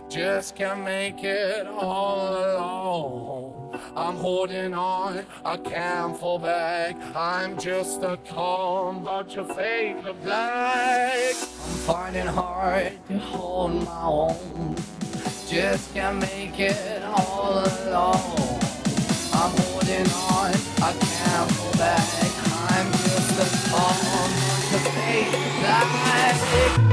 Just can't make it all alone. I'm holding on, I can't fall back. I'm just a calm, but your fake the black. I'm finding hard to hold my own. Just can't make it all alone. I'm holding on, I can't fall back. I'm just a calm, but your fake the black.